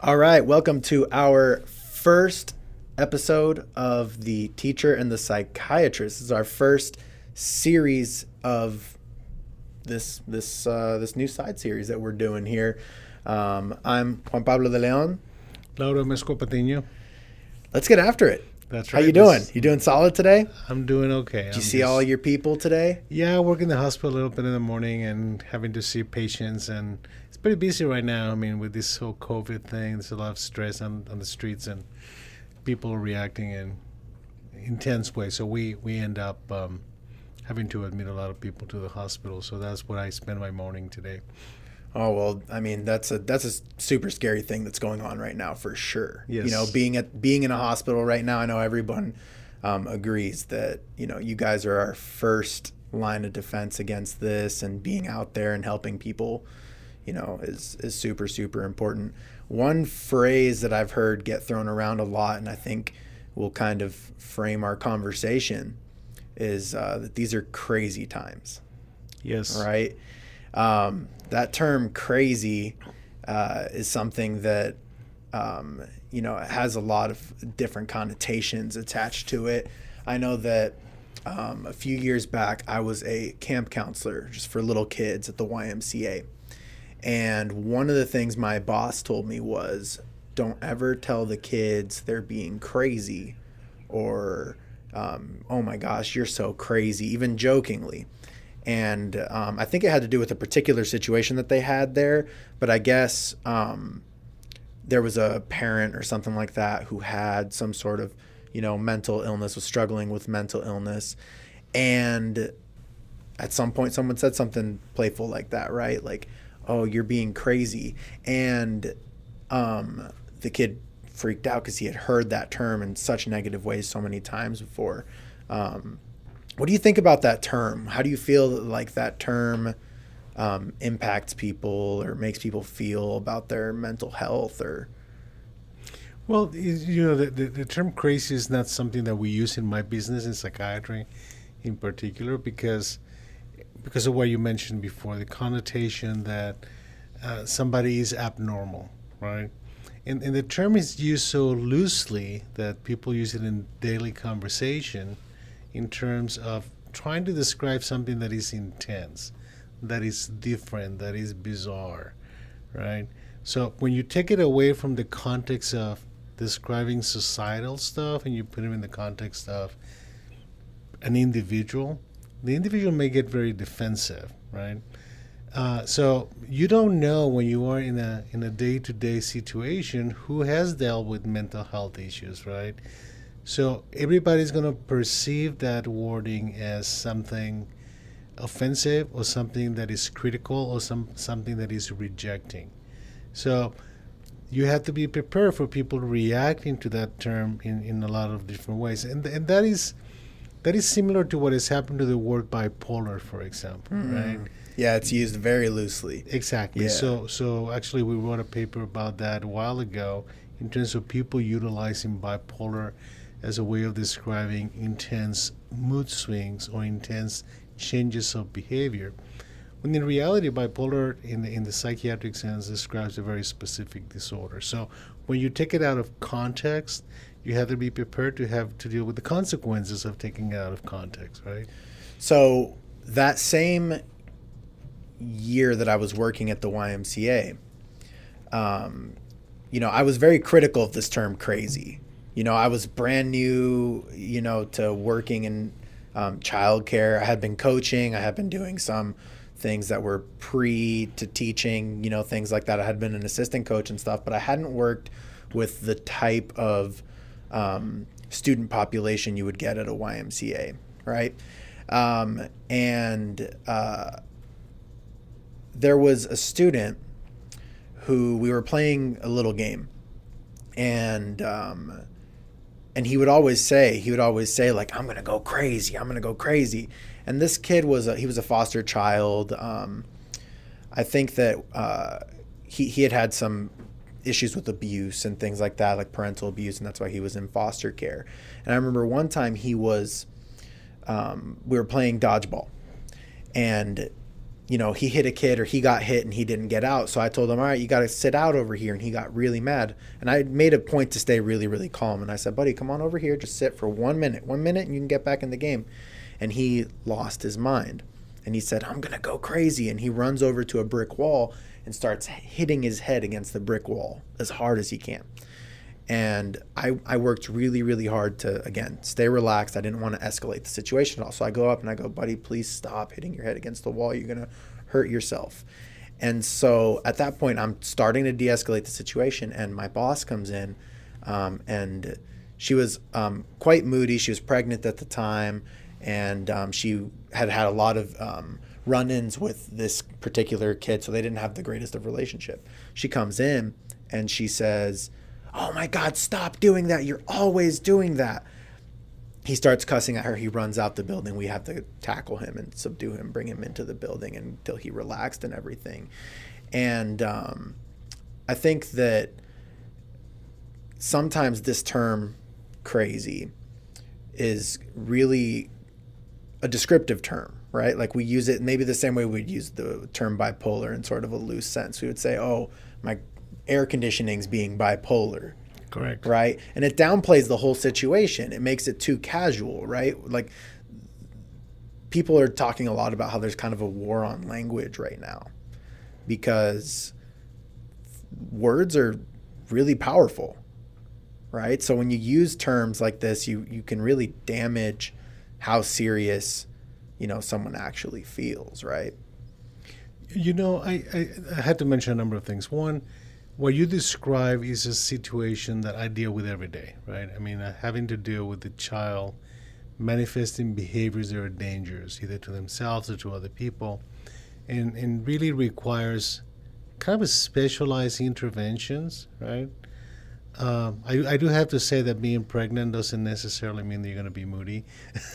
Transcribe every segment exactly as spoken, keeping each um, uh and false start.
All right, welcome to our first episode of The Teacher and the Psychiatrist. This is our first series of this this uh, this new side series that we're doing here. Um, I'm Juan Pablo de Leon. Laura Mesco Patiño. Let's get after it. That's right. How you doing? This, you doing solid today? I'm doing okay. Did I'm you see just, all your people today? Yeah, I work in the hospital a little bit in the morning and having to see patients, and it's pretty busy right now. I mean, with this whole COVID thing, there's a lot of stress on, on the streets and people reacting in intense ways. So we, we end up um, having to admit a lot of people to the hospital. So that's what I spend my morning today. Oh, well, I mean, that's a that's a super scary thing that's going on right now for sure. Yes. You know, being at being in a hospital right now, I know everyone um, agrees that, you know, you guys are our first line of defense against this, and being out there and helping people, you know, is, is super, super important. One phrase that I've heard get thrown around a lot, and I think will kind of frame our conversation, is uh, that these are crazy times. Yes. Right? Um, that term crazy uh, is something that, um, you know, has a lot of different connotations attached to it. I know that um, a few years back, I was a camp counselor just for little kids at the Y M C A. And one of the things my boss told me was, don't ever tell the kids they're being crazy, or, um, oh my gosh, you're so crazy, even jokingly. And um, I think it had to do with a particular situation that they had there. But I guess um, there was a parent or something like that who had some sort of, you know, mental illness, was struggling with mental illness. And at some point someone said something playful like that, right? Like, oh, you're being crazy. And um, the kid freaked out because he had heard that term in such negative ways so many times before. Um What do you think about that term? How do you feel like that term um, impacts people or makes people feel about their mental health? Or Well, you know, the, the, the term crazy is not something that we use in my business, in psychiatry in particular, because because of what you mentioned before, the connotation that uh, somebody is abnormal, right? And, and the term is used so loosely that people use it in daily conversation in terms of trying to describe something that is intense, that is different, that is bizarre, right? So when you take it away from the context of describing societal stuff and you put it in the context of an individual, the individual may get very defensive, right? Uh, so you don't know when you are in a in a day-to-day situation who has dealt with mental health issues, right? So everybody's going to perceive that wording as something offensive or something that is critical or some something that is rejecting. So you have to be prepared for people reacting to that term in, in a lot of different ways. And and that is that is similar to what has happened to the word bipolar, for example, mm-hmm. right? Yeah, it's used very loosely. Exactly. Yeah. So so actually we wrote a paper about that a while ago in terms of people utilizing bipolar as a way of describing intense mood swings or intense changes of behavior. When in reality, bipolar in the, in the psychiatric sense describes a very specific disorder. So when you take it out of context, you have to be prepared to have to deal with the consequences of taking it out of context, right? So that same year that I was working at the Y M C A, um, you know, I was very critical of this term crazy. You know, I was brand new, you know, to working in um, childcare. I had been coaching. I had been doing some things that were pre to teaching, you know, things like that. I had been an assistant coach and stuff, but I hadn't worked with the type of um, student population you would get at a Y M C A, right? Um, and uh, there was a student who we were playing a little game, and um, and he would always say, he would always say like, I'm gonna go crazy, I'm gonna go crazy. And this kid was a, he was a foster child. Um, I think that uh, he he had had some issues with abuse and things like that, like parental abuse, and that's why he was in foster care. And I remember one time he was, um, we were playing dodgeball, and you know, he hit a kid or he got hit and he didn't get out. So I told him, all right, you got to sit out over here. And he got really mad. And I made a point to stay really, really calm. And I said, buddy, come on over here. Just sit for one minute, one minute, and you can get back in the game. And he lost his mind. And he said, I'm going to go crazy. And he runs over to a brick wall and starts hitting his head against the brick wall as hard as he can. And I, I worked really, really hard to, again, stay relaxed. I didn't want to escalate the situation at all. So I go up and I go, buddy, please stop hitting your head against the wall. You're going to hurt yourself. And so at that point, I'm starting to de-escalate the situation. And my boss comes in um, and she was um, quite moody. She was pregnant at the time. And um, she had had a lot of um, run-ins with this particular kid, so they didn't have the greatest of relationship. She comes in and she says, oh my God, stop doing that. You're always doing that. He starts cussing at her. He runs out the building. We have to tackle him and subdue him, bring him into the building until he relaxed and everything. And um, I think that sometimes this term crazy is really a descriptive term, right? Like we use it maybe the same way we'd use the term bipolar in sort of a loose sense. We would say, oh, my air conditioning's being bipolar. Correct. Right? And it downplays the whole situation. It makes it too casual, right? Like people are talking a lot about how there's kind of a war on language right now because words are really powerful, right? So when you use terms like this, you, you can really damage how serious, you know, someone actually feels, right? You know, I, I, I had to mention a number of things. One, what you describe is a situation that I deal with every day, right? I mean, uh, having to deal with the child manifesting behaviors that are dangerous, either to themselves or to other people, and, and really requires kind of specialized interventions, right? Um, I, I do have to say that being pregnant doesn't necessarily mean that you're going to be moody.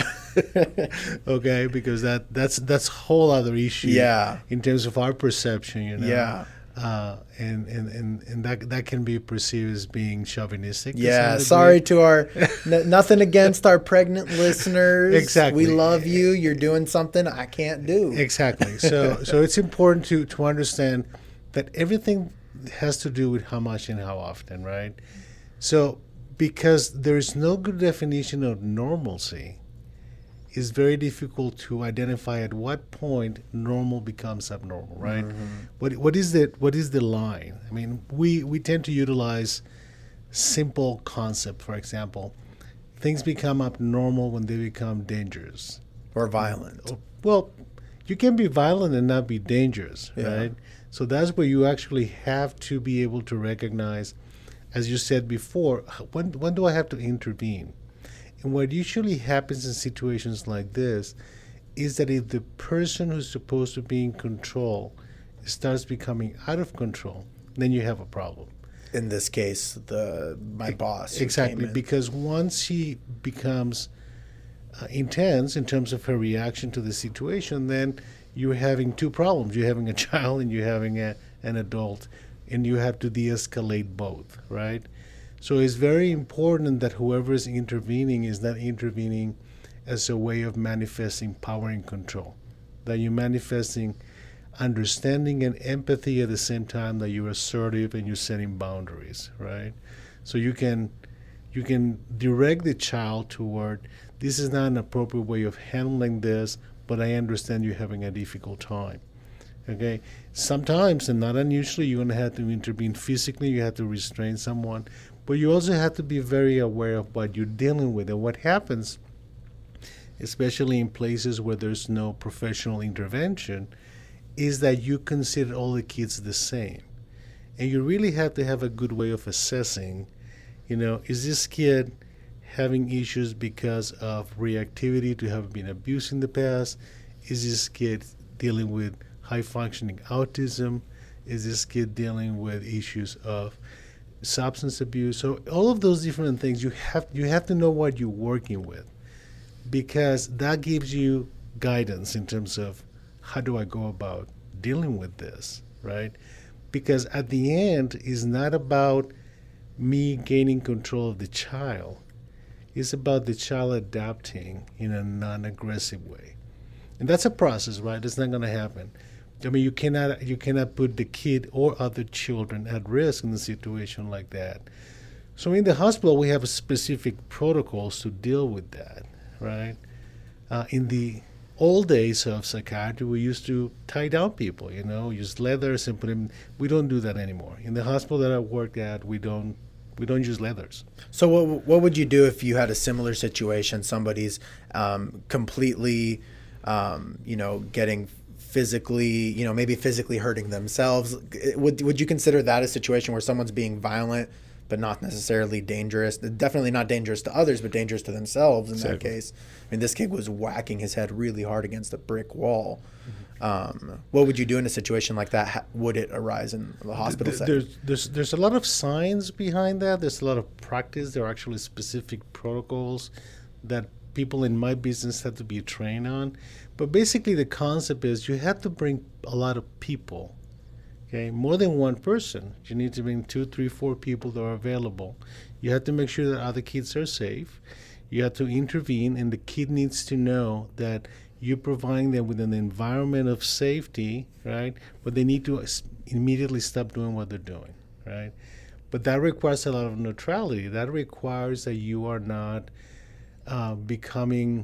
Okay, because that that's that's a whole other issue. Yeah. In terms of our perception, you know. Yeah. Uh, and, and, and, and that that can be perceived as being chauvinistic. Yeah. Sorry to our n- nothing against our pregnant listeners. Exactly. We love you. You're doing something I can't do. Exactly. So so it's important to to understand that everything has to do with how much and how often, right? So because there is no good definition of normalcy, it's very difficult to identify at what point normal becomes abnormal, right? Mm-hmm. What what is the what is the line? I mean, we we tend to utilize simple concept. For example, things become abnormal when they become dangerous or violent. Well, you can be violent and not be dangerous, yeah. right? So that's where you actually have to be able to recognize, as you said before, when when do I have to intervene? And what usually happens in situations like this is that if the person who's supposed to be in control starts becoming out of control, then you have a problem. In this case, the my boss. Exactly, because once she becomes uh, intense in terms of her reaction to the situation, then you're having two problems. You're having a child and you're having a, an adult, and you have to de-escalate both, right? So it's very important that whoever is intervening is not intervening as a way of manifesting power and control, that you're manifesting understanding and empathy at the same time that you're assertive and you're setting boundaries, right? So you can you can direct the child toward, this is not an appropriate way of handling this, but I understand you're having a difficult time. Okay? Sometimes, and not unusually, you're going to have to intervene physically, you have to restrain someone, but you also have to be very aware of what you're dealing with. And what happens, especially in places where there's no professional intervention, is that you consider all the kids the same. And you really have to have a good way of assessing, you know, is this kid having issues because of reactivity to have been abused in the past? Is this kid dealing with high-functioning autism? Is this kid dealing with issues of substance abuse? So all of those different things, you have you have to know what you're working with, because that gives you guidance in terms of how do I go about dealing with this, right? Because at the end, it's not about me gaining control of the child. It's about the child adapting in a non-aggressive way. And that's a process, right? It's not going to happen. I mean, you cannot you cannot put the kid or other children at risk in a situation like that. So in the hospital, we have specific protocols to deal with that, right? Uh, in the old days of psychiatry, we used to tie down people, you know, use leathers and put them. We don't do that anymore. In the hospital that I work at, we don't we don't use leathers. So what what would you do if you had a similar situation? Somebody's um, completely, um, you know, getting physically, you know, maybe physically hurting themselves. Would would you consider that a situation where someone's being violent, but not necessarily dangerous? Definitely not dangerous to others, but dangerous to themselves in exactly. that case. I mean, this kid was whacking his head really hard against a brick wall. Mm-hmm. Um, what would you do in a situation like that? How, would it arise in the hospital there's, setting? There's, there's, there's a lot of science behind that. There's a lot of practice. There are actually specific protocols that people in my business have to be trained on. But basically the concept is you have to bring a lot of people. Okay, more than one person. You need to bring two, three, four people that are available. You have to make sure that other kids are safe. You have to intervene, and the kid needs to know that you're providing them with an environment of safety, right? But they need to immediately stop doing what they're doing, right? But that requires a lot of neutrality. That requires that you are not uh, becoming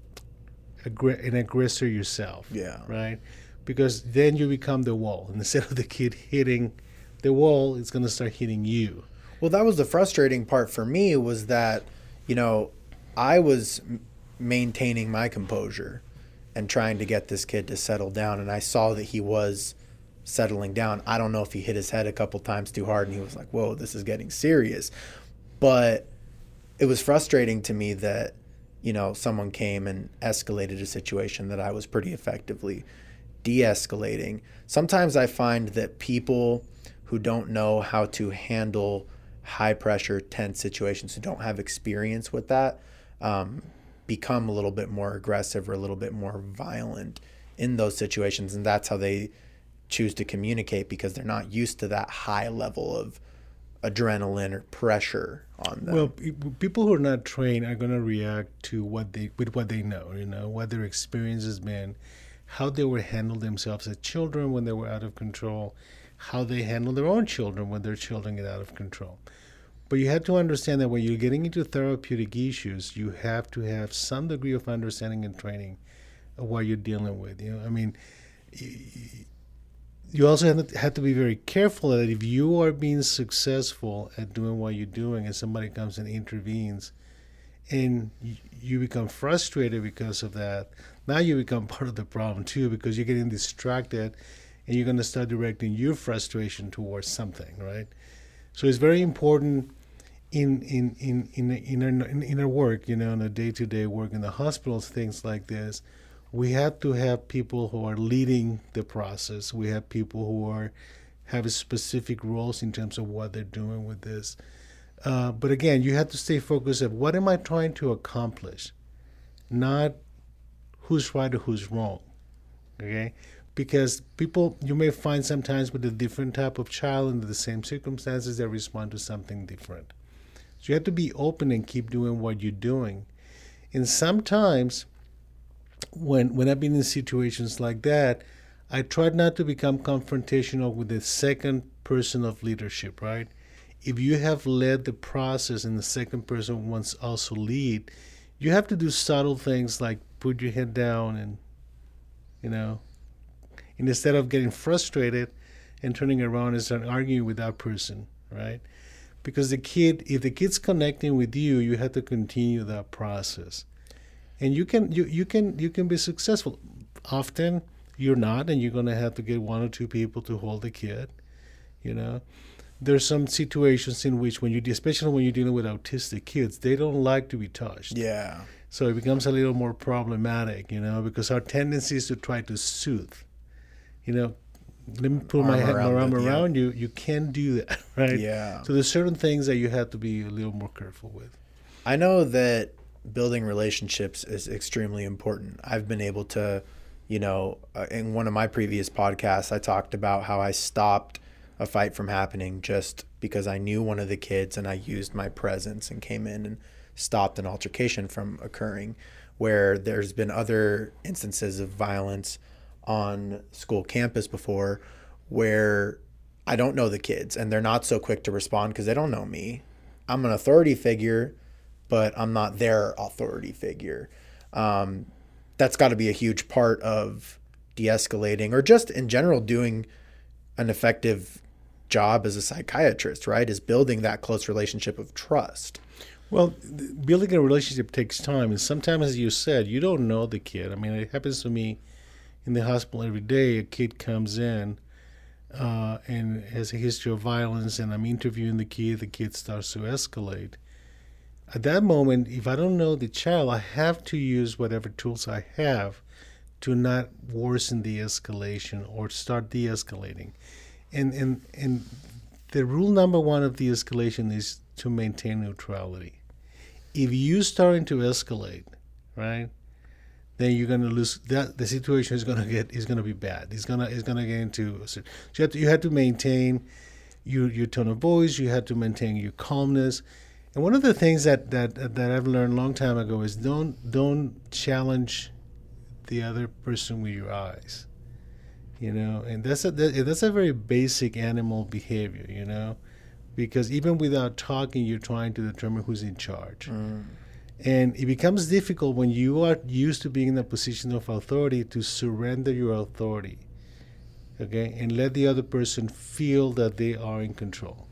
aggr- an aggressor yourself, yeah, right? Because then you become the wall. And instead of the kid hitting the wall, it's going to start hitting you. Well, that was the frustrating part for me, was that, you know, I was maintaining my composure and trying to get this kid to settle down, and I saw that he was settling down. I don't know if he hit his head a couple times too hard and he was like, whoa, this is getting serious. But it was frustrating to me that, you know, someone came and escalated a situation that I was pretty effectively de-escalating. Sometimes I find that people who don't know how to handle high pressure, tense situations, who don't have experience with that, um, become a little bit more aggressive or a little bit more violent in those situations. And that's how they choose to communicate, because they're not used to that high level of adrenaline or pressure on them. Well, people who are not trained are going to react to what they with what they know, you know, what their experience has been, how they would handle themselves as children when they were out of control, how they handle their own children when their children get out of control. But you have to understand that when you're getting into therapeutic issues, you have to have some degree of understanding and training of what you're dealing with. You know, I mean, you also have to, have to be very careful that if you are being successful at doing what you're doing and somebody comes and intervenes and you become frustrated because of that, now you become part of the problem too, because you're getting distracted and you're going to start directing your frustration towards something, right? So it's very important in in in in in our, in our work, you know, in a day-to-day work in the hospitals, things like this. We have to have people who are leading the process. We have people who are have specific roles in terms of what they're doing with this. Uh, but again, you have to stay focused on what am I trying to accomplish, not who's right or who's wrong. Okay. Because people, you may find sometimes with a different type of child under the same circumstances, they respond to something different. So you have to be open and keep doing what you're doing. And sometimes, when when I've been in situations like that, I tried not to become confrontational with the second person of leadership, right? If you have led the process and the second person wants also lead, you have to do subtle things like put your head down and, you know, and instead of getting frustrated and turning around and start arguing with that person, right? Because the kid, if the kid's connecting with you, you have to continue that process. And you can you, you can you can be successful. Often you're not, and you're gonna have to get one or two people to hold the kid. You know, there's some situations in which when you, especially when you're dealing with autistic kids, they don't like to be touched. Yeah. So it becomes a little more problematic, you know, because our tendency is to try to soothe. You know, let me put my, head, my arm the, around yeah. you. You can't do that, right? Yeah. So there's certain things that you have to be a little more careful with. I know that building relationships is extremely important. I've been able to, you know, uh, in one of my previous podcasts, I talked about how I stopped a fight from happening just because I knew one of the kids and I used my presence and came in and stopped an altercation from occurring, where there's been other instances of violence on school campus before where I don't know the kids and they're not so quick to respond because they don't know me. I'm an authority figure, but I'm not their authority figure. Um, that's got to be a huge part of de-escalating, or just in general doing an effective job as a psychiatrist, right? Is building that close relationship of trust. Well, building a relationship takes time. And sometimes, as you said, you don't know the kid. I mean, it happens to me in the hospital every day. A kid comes in uh, and has a history of violence, and I'm interviewing the kid. The kid starts to escalate. At that moment, if I don't know the child, I have to use whatever tools I have to not worsen the escalation or start de-escalating. And, and, and the rule number one of de-escalation is to maintain neutrality. If you starting to escalate, right, then you're going to lose. That the situation is going to get is going to be bad. It's gonna it's going to get into. So you have to you have to maintain your your tone of voice. You have to maintain your calmness. And one of the things that that that I've learned a long time ago is don't don't challenge the other person with your eyes. You know, and that's a that's a very basic animal behavior. You know. Because even without talking, you're trying to determine who's in charge. Mm. And it becomes difficult when you are used to being in a position of authority to surrender your authority, okay, and let the other person feel that they are in control,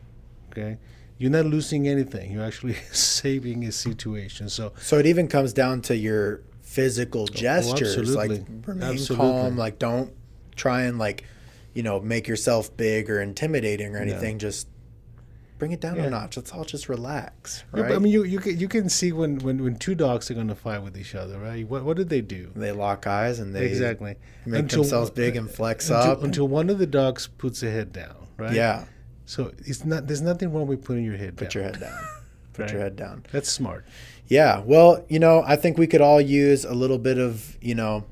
okay? You're not losing anything. You're actually saving a situation. So, so it even comes down to your physical gestures. Oh, absolutely. Like remain absolutely. calm. Like don't try and like, you know, make yourself big or intimidating or anything. No. Just bring it down yeah. a notch. Let's all just relax, right? Yeah, I mean, you you can, you can see when, when, when two dogs are going to fight with each other, right? What what did they do? They lock eyes and they exactly make until, themselves big and flex until, up. Until one of the dogs puts their head down, right? Yeah. So it's not. There's nothing wrong with putting your head Put down. your head down. Put right? your head down. That's smart. Yeah. Well, you know, I think we could all use a little bit of, you know,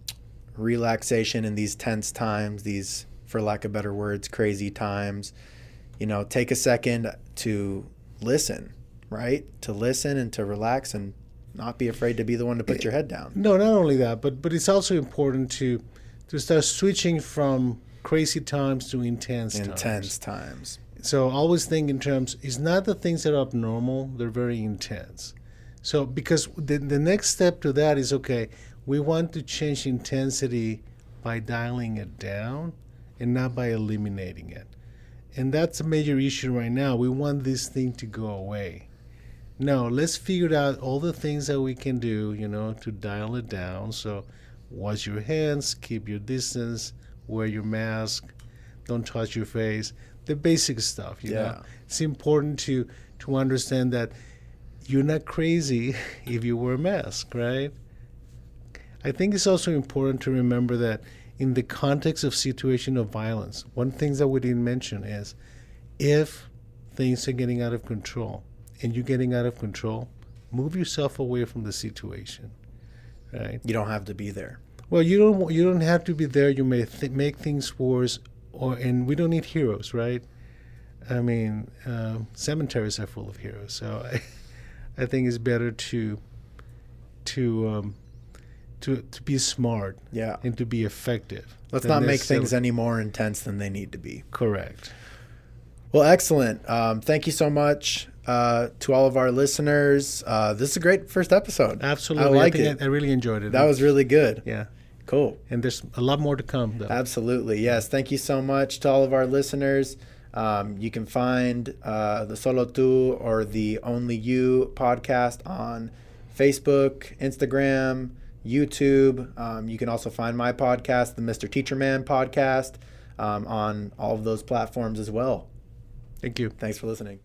relaxation in these tense times, these, for lack of better words, crazy times. You know, take a second to listen, right? To listen and to relax and not be afraid to be the one to put your head down. No, not only that, but but it's also important to to start switching from crazy times to intense times. Intense times. So always think in terms, it's not the things that are abnormal, they're very intense. So because the, the next step to that is, okay, we want to change intensity by dialing it down and not by eliminating it. And that's a major issue right now. We want this thing to go away. No, let's figure out all the things that we can do, you know, to dial it down. So wash your hands, keep your distance, wear your mask, don't touch your face, the basic stuff, you yeah. know. It's important to, to understand that you're not crazy if you wear a mask, right? I think it's also important to remember that in the context of situation of violence, one thing that we didn't mention is if things are getting out of control and you're getting out of control, move yourself away from the situation, right? You don't have to be there. Well, you don't you don't have to be there. You may th- make things worse, or and we don't need heroes, right? I mean, uh, cemeteries are full of heroes, so I, I think it's better to to um, To, to be smart, yeah, and to be effective. Let's not make things any more intense than they need to be. Correct. Well, excellent. Um, thank you so much uh, to all of our listeners. Uh, this is a great first episode. Absolutely, I like I it. I, I really enjoyed it. That was really good. Yeah, cool. And there's a lot more to come, though. Absolutely, yes. Thank you so much to all of our listeners. Um, you can find uh, the Solo Tu or the Only You podcast on Facebook, Instagram, YouTube. Um, you can also find my podcast, the Mister Teacher Man podcast, um, on all of those platforms as well. Thank you. Thanks for listening.